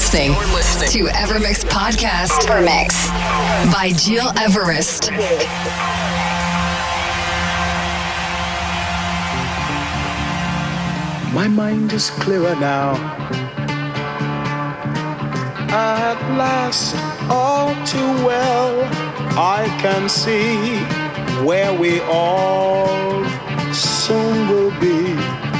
listening to Evermix Podcast. Evermix by Gil Everest. My mind is clearer now. At last, all too well, I can see where we all soon will be.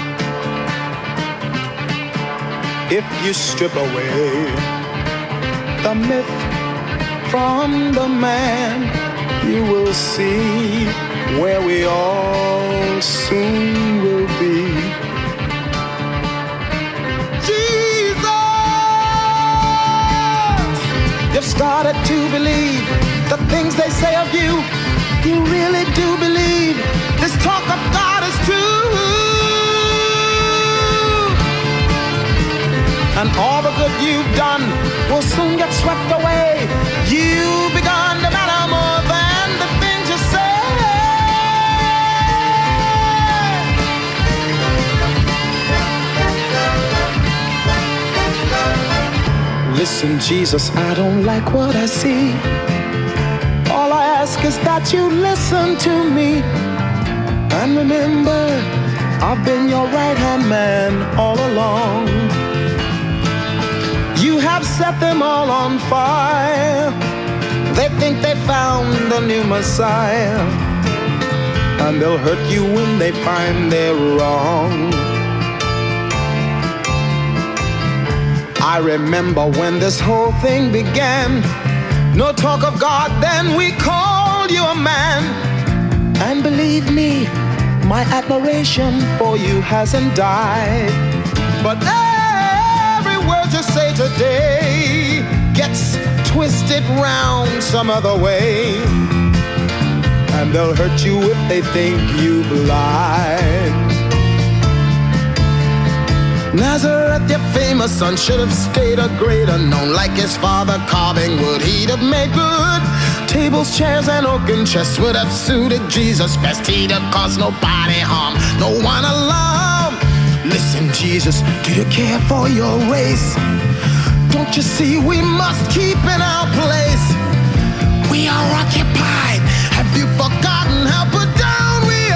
If you strip away the myth from the man, you will see where we all soon will be. You've started to believe the things they say of you. You really do believe this talk of God is true. And all the good you've done will soon get swept away. You've begun to matter more than the things you say. Listen, Jesus, I don't like what I see. All I ask is that you listen to me. And remember, I've been your right-hand man all along. You have set them all on fire. They think they found a new Messiah. And they'll hurt you when they find they're wrong. I remember when this whole thing began. No talk of God, then we called you a man. And believe me, my admiration for you hasn't died. But every word you say today gets twisted round some other way. And they'll hurt you if they think you lied. Nazareth, your famous son, should have stayed a greater known. Like his father carving wood, he'd have made good. Tables, chairs, and oaken chests would have suited Jesus best. He'd have caused nobody harm, no one alarm. Listen, Jesus, do you care for your race? Don't you see we must keep in our place? We are occupied. Have you forgotten how put down we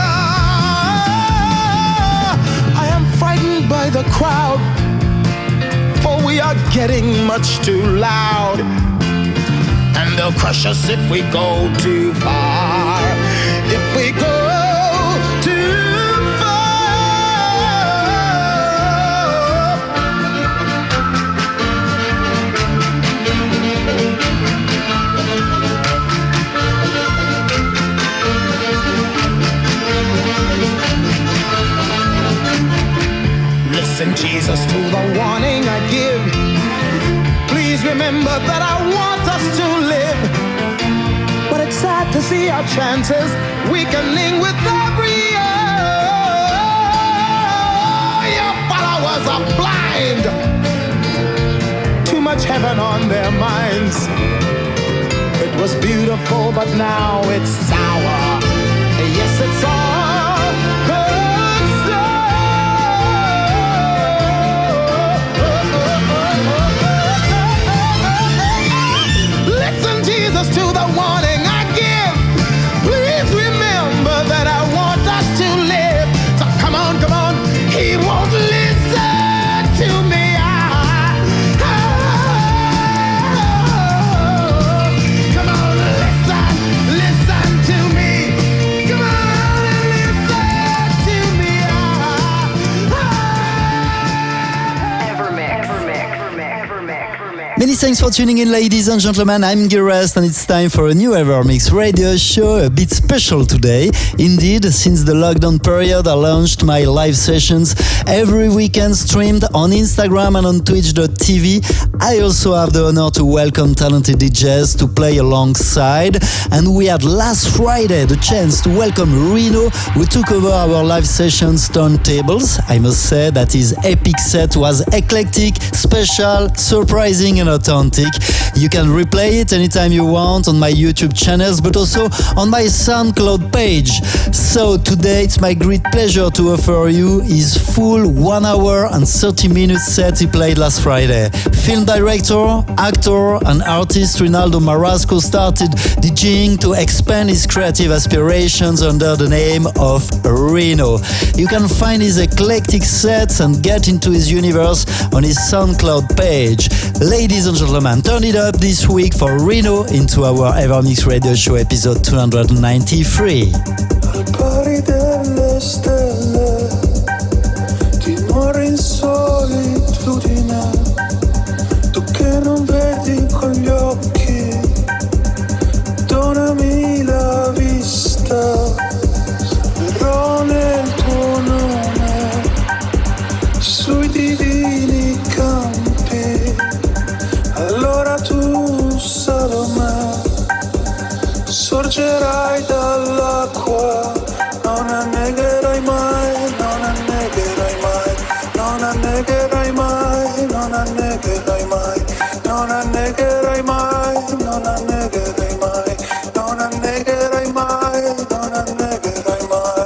are? I am frightened by the crowd, for we are getting much too loud. And they'll crush us if we go too far. If we go too Listen, Jesus, to the warning I give. Please remember that I want us to live. But it's sad to see our chances weakening with every year. Your followers are blind. Too much heaven on their minds. It was beautiful, but now it's sour. Yes, it's all good stuff. Listen, Jesus, to the warning I give. Please remember that I want us to live. So come on, he won't listen to me. Come on, listen to me. Come on, listen to me. Many thanks for tuning in, ladies and gentlemen. I'm Gires, and it's time for a new Evermix radio show, a bit special today. Indeed, since the lockdown period, I launched my live sessions every weekend, streamed on Instagram and on Twitch.tv. I also have the honor to welcome talented DJs to play alongside. And we had last Friday the chance to welcome Reno, who took over our live sessions turntables. I must say that his epic set was eclectic, special, surprising, and authentic. You can replay it anytime you want on my YouTube channels, but also on my SoundCloud page. So today it's my great pleasure to offer you his full 1 hour and 30 minutes set he played last Friday. Film director, actor and artist Rinaldo Marasco started DJing to expand his creative aspirations under the name of Reno. You can find his eclectic sets and get into his universe on his SoundCloud page. Ladies and gentlemen, turn it up this week for Reno into our Evermix Radio Show episode 293. Al pari delle stelle, dimora in solitudine, tu che non vedi con gli occhi, donami la vista, verrò nel tuo nome, sui divini campi, allora tu, Salome, sorgerai dall'acqua, non annegherai mai, non annegherai mai, non annegherai mai, non annegherai mai, non annegherai mai, non annegherai mai, non annegherai mai, non annegherai mai.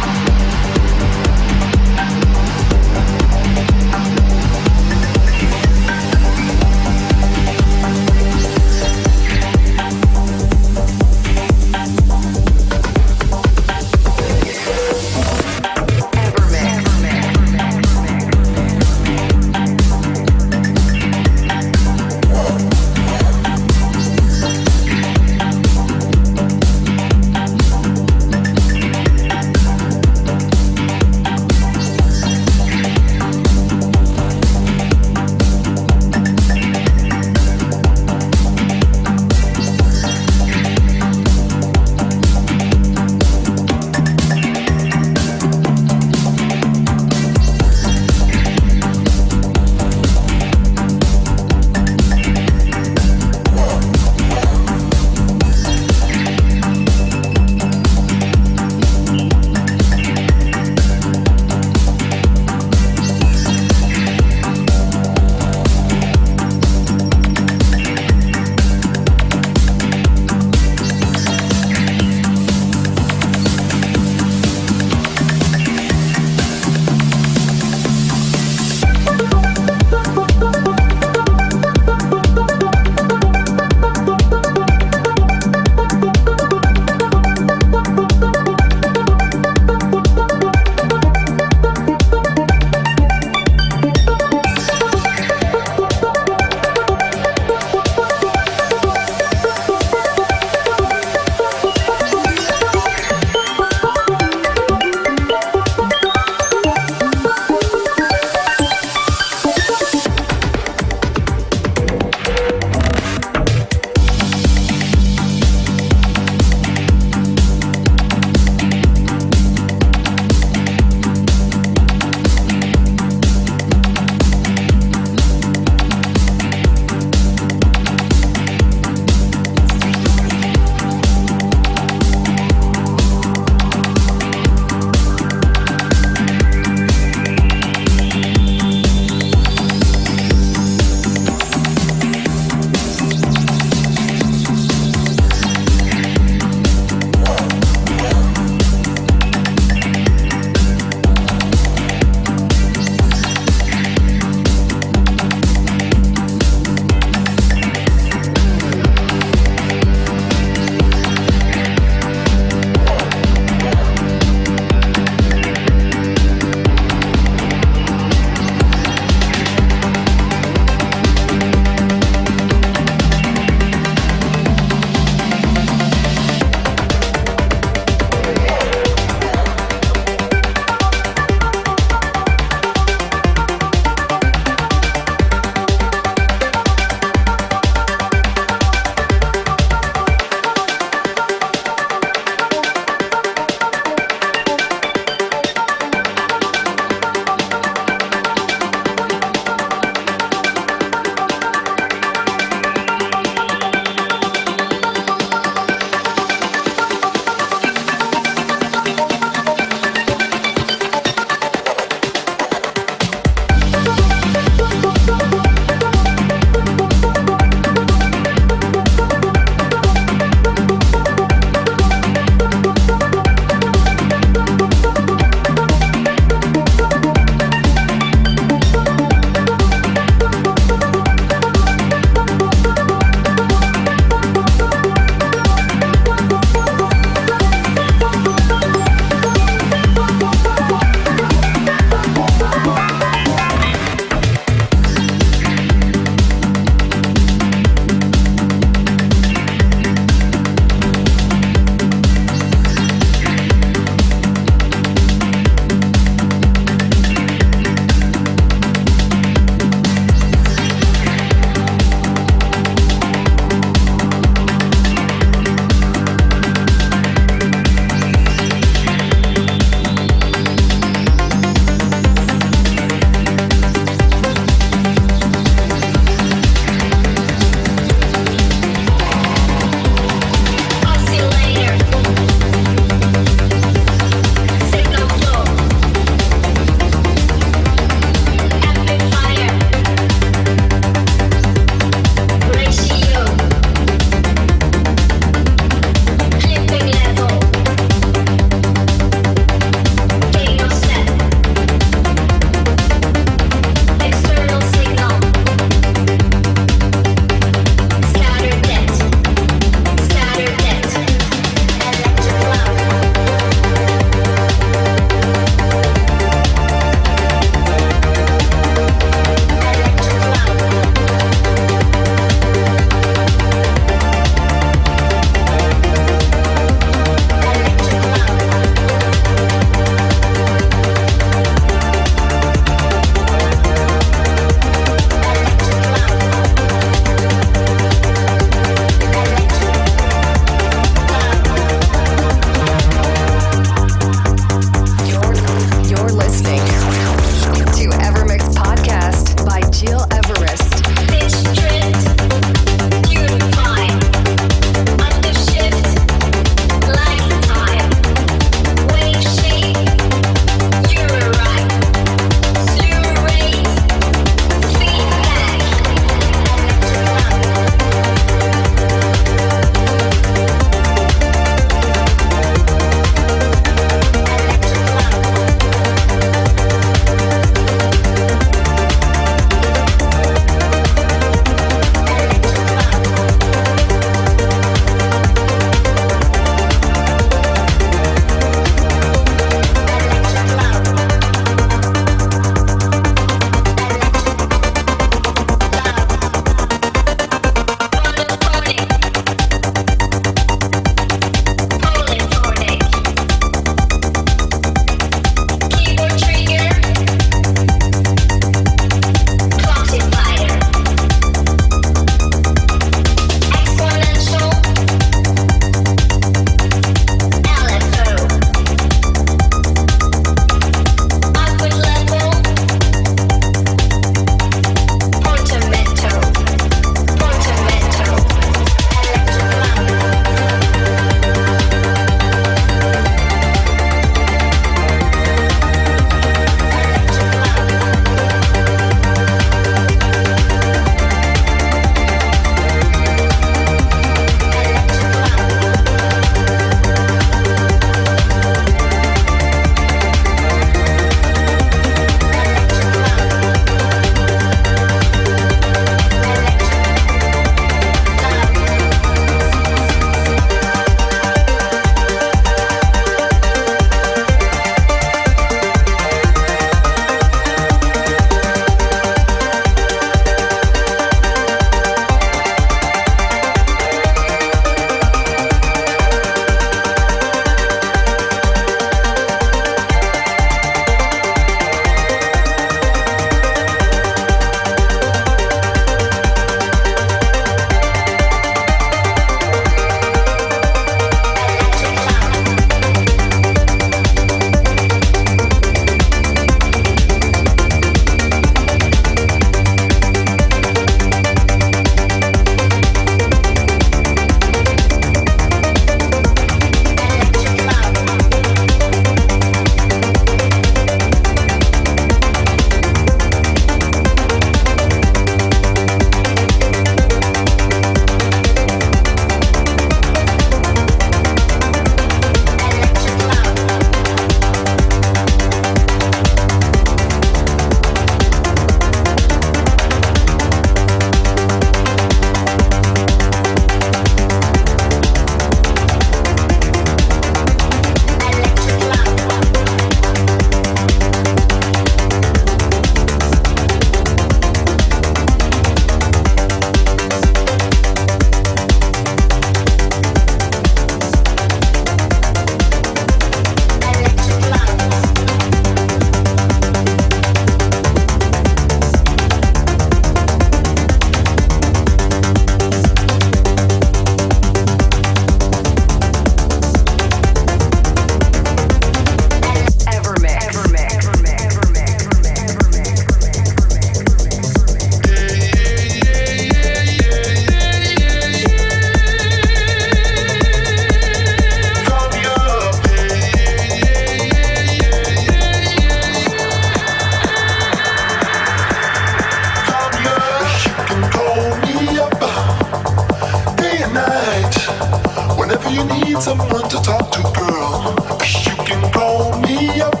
need someone to talk to, girl, you can call me up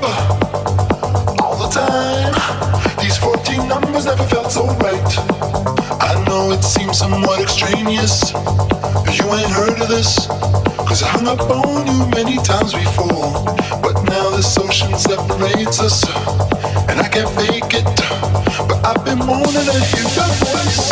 all the time. These 14 numbers never felt so right. I know it seems somewhat extraneous. You ain't heard of this, 'cause I hung up on you many times before. But now this ocean separates us, and I can't fake it. But I've been wanting to hear your voice.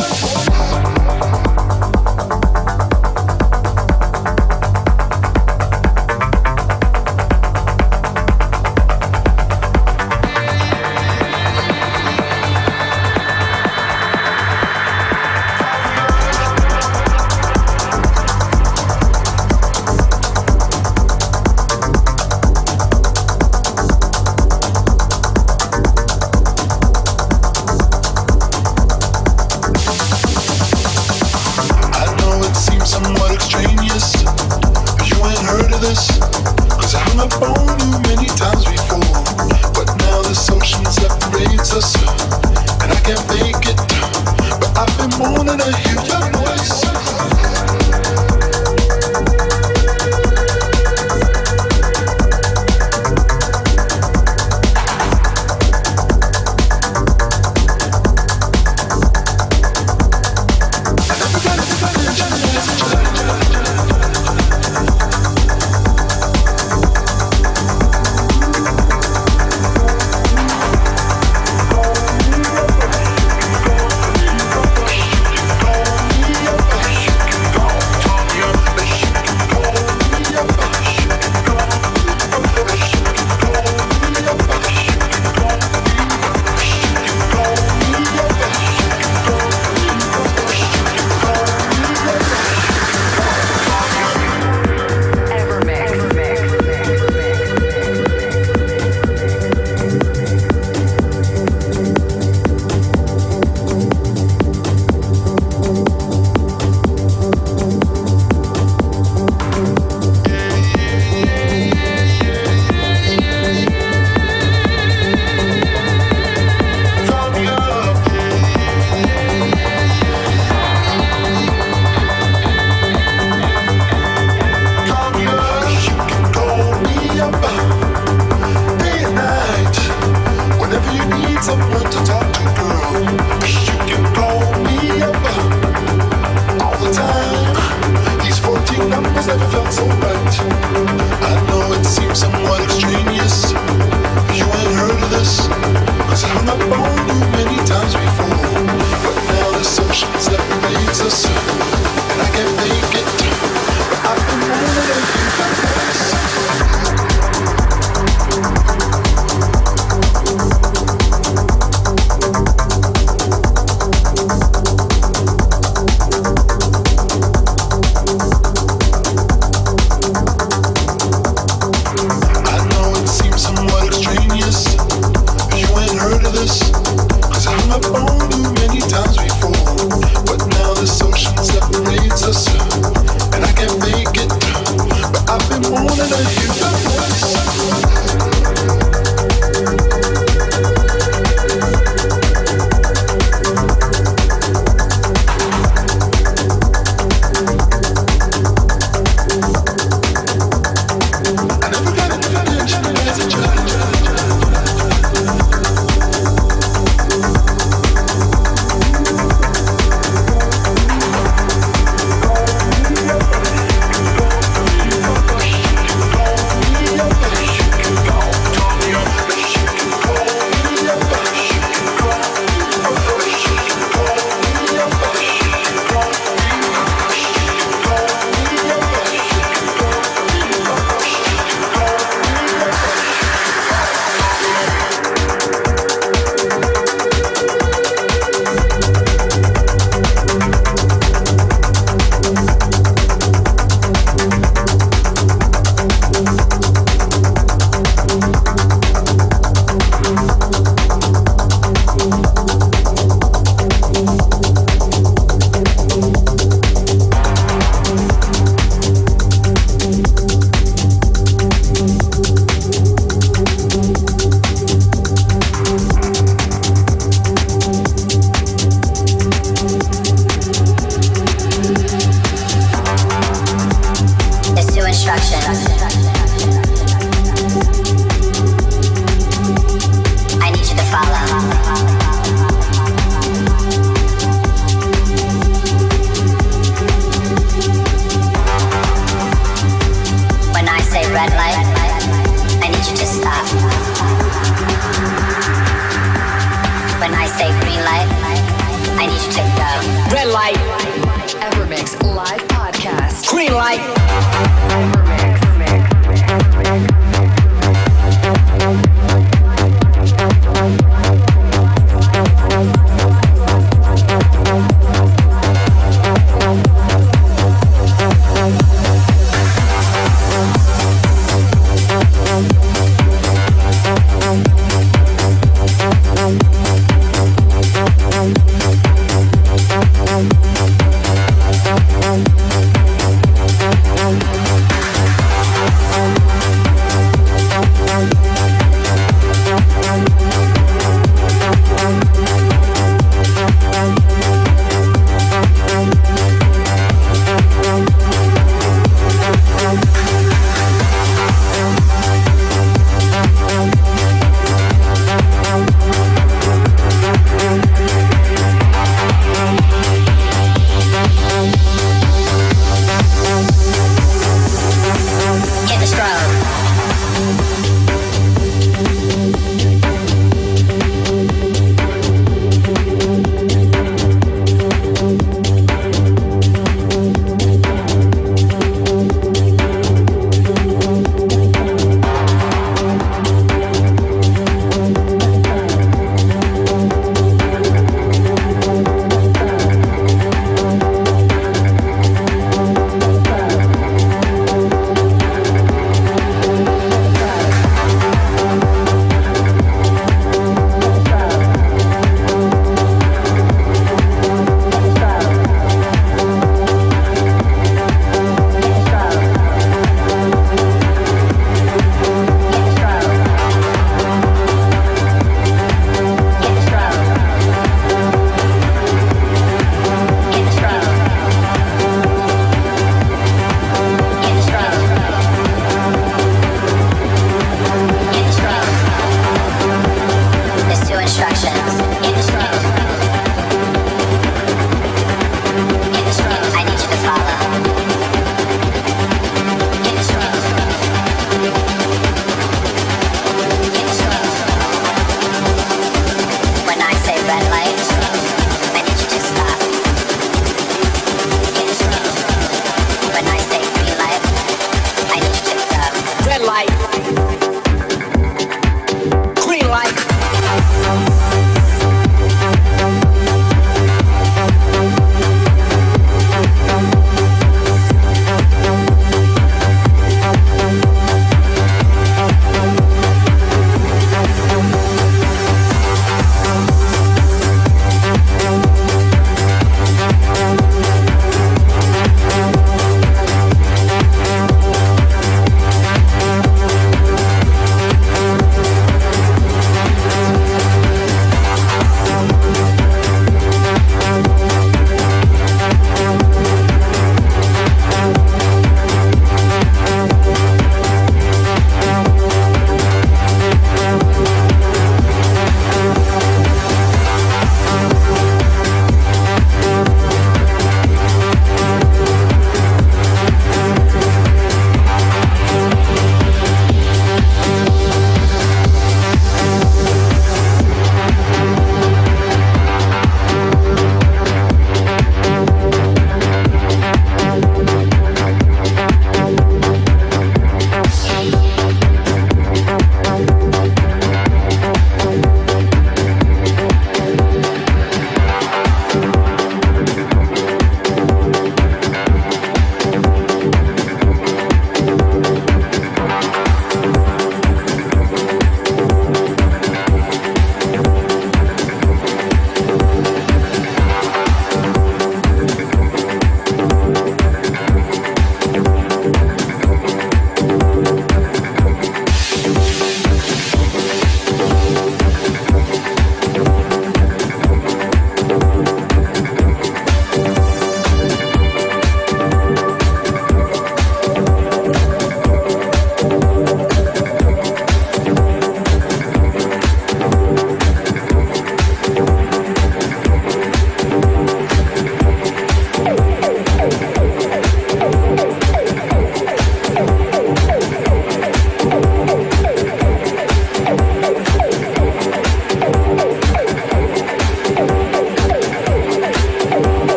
Cause I'm up on you many times before, but now the social's up. red light, I need you to stop. When I say green light, I need you to go. Red light. Evermix live podcast. Green light. We'll be right back.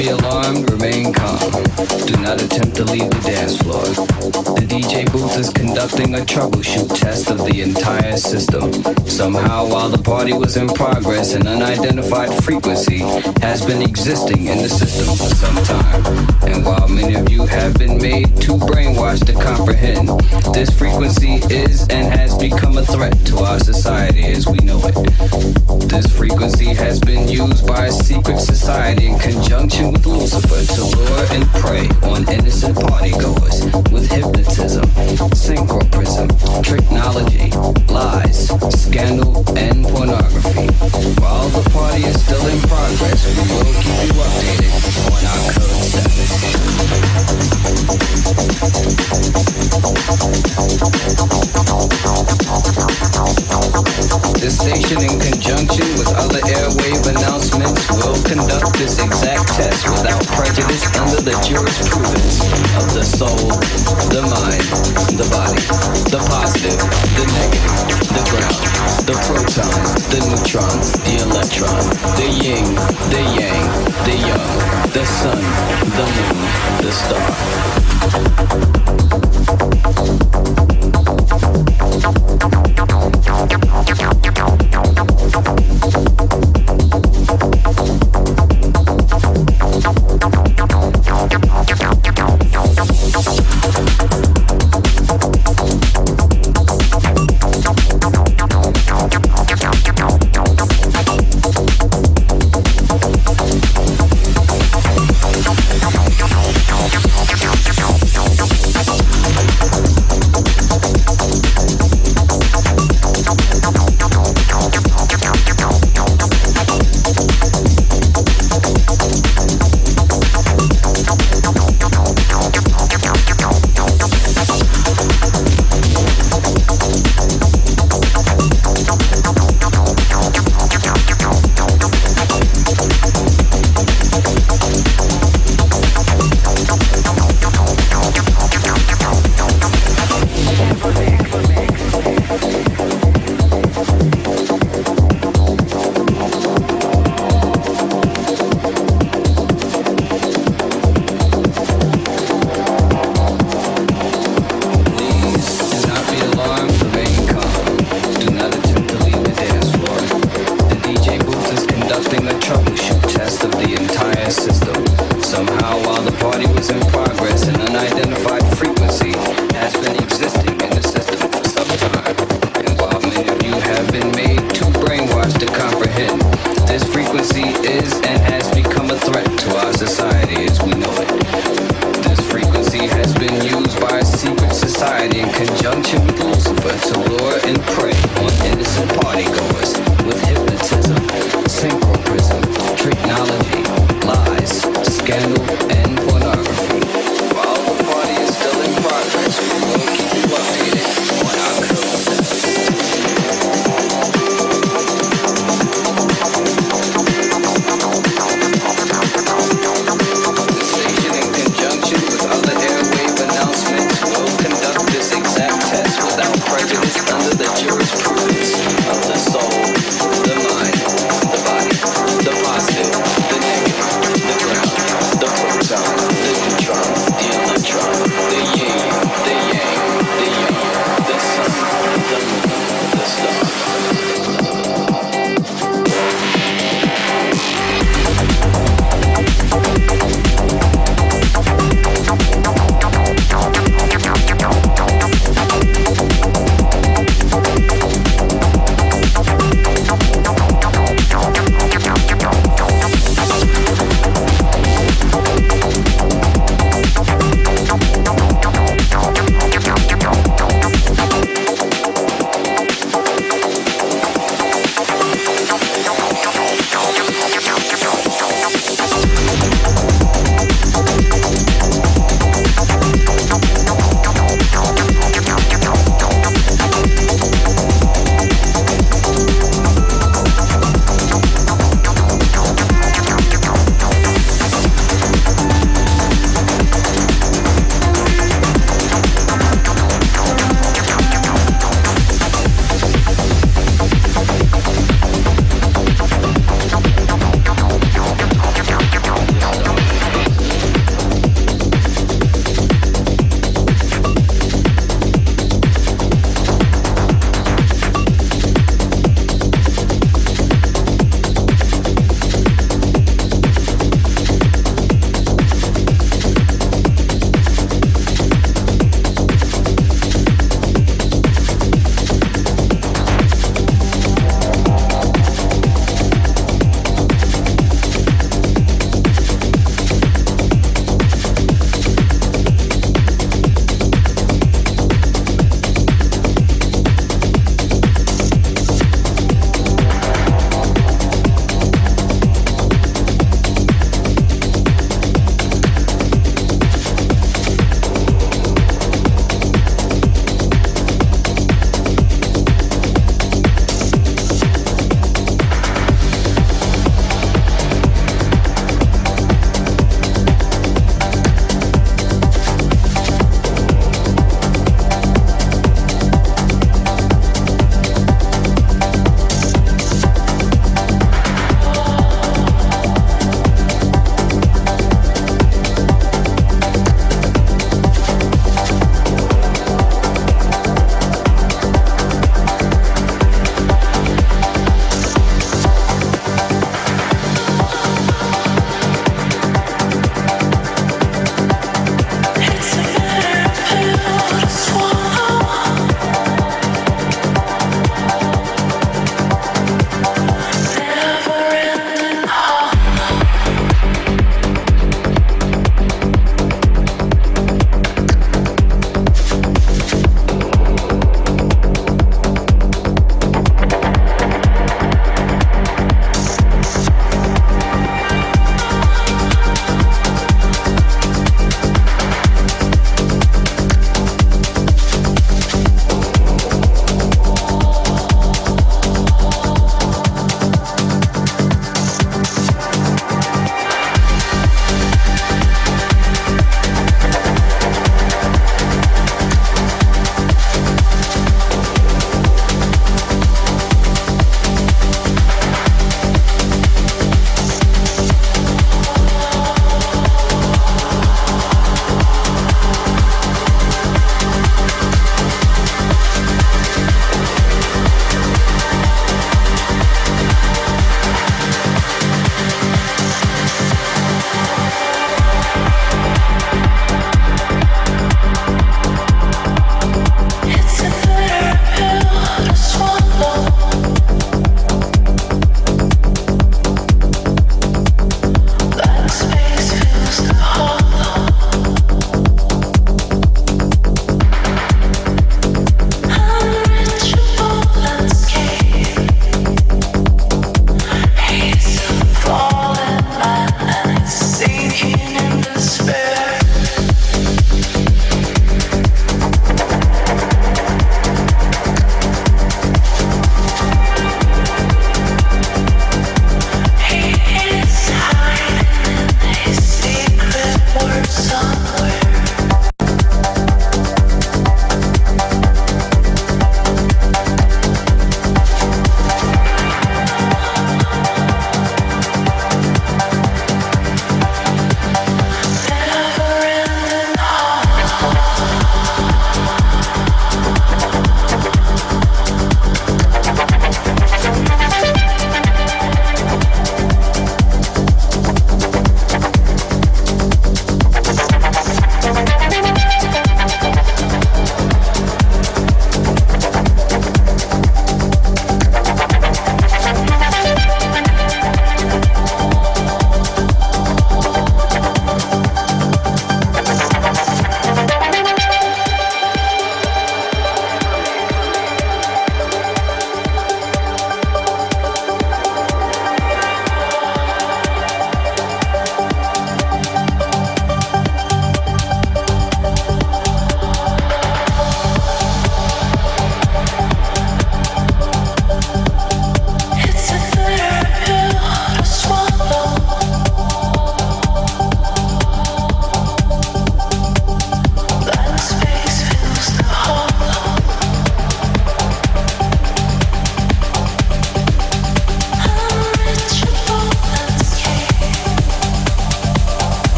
be alarmed, remain calm. Do not attempt to leave the dance floor. The DJ booth is conducting a troubleshoot test of the entire system. Somehow, while the party was in progress, an unidentified frequency has been existing in the system for some time. And while many of you have been made too brainwashed to comprehend, this frequency is and has become a threat to our society as we know it. This frequency has been used by a secret society in conjunction with Lucifer to lure and prey on innocent partygoers with hypnotism, synchroprism, tricknology, lies, scandal, and pornography. While the party is still in progress, we will keep you updated on our current status. This station, in conjunction with other airwave announcements, will conduct this exact test without prejudice under the jurisprudence of the soul, the mind, the body, the positive, the negative, the ground, the proton, the neutron, the electron, the yin, the yang, the young, the sun, the moon, the star. Prejudice under the jurisprudence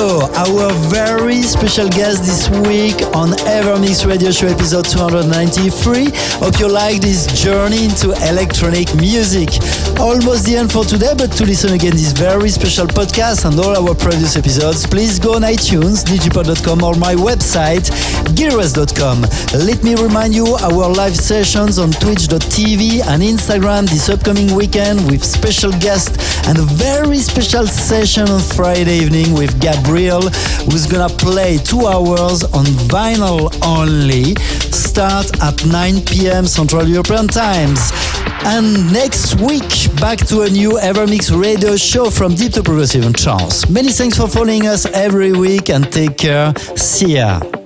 Nico, our very special guest this week on Evermix Radio Show episode 293. Hope you like this journey into electronic music. Almost the end for today, but to listen again this very special podcast and all our previous episodes, please go on iTunes, digipod.com or my website, gearres.com. Let me remind you our live sessions on twitch.tv and Instagram this upcoming weekend with special guests and a very special session on Friday evening with Gabriel, who's gonna play 2 hours on vinyl only. Start at 9 p.m. Central European times. And next week, back to a new Evermix Radio Show from Deep to Progressive and Trance. Many thanks for following us every week and take care. See ya.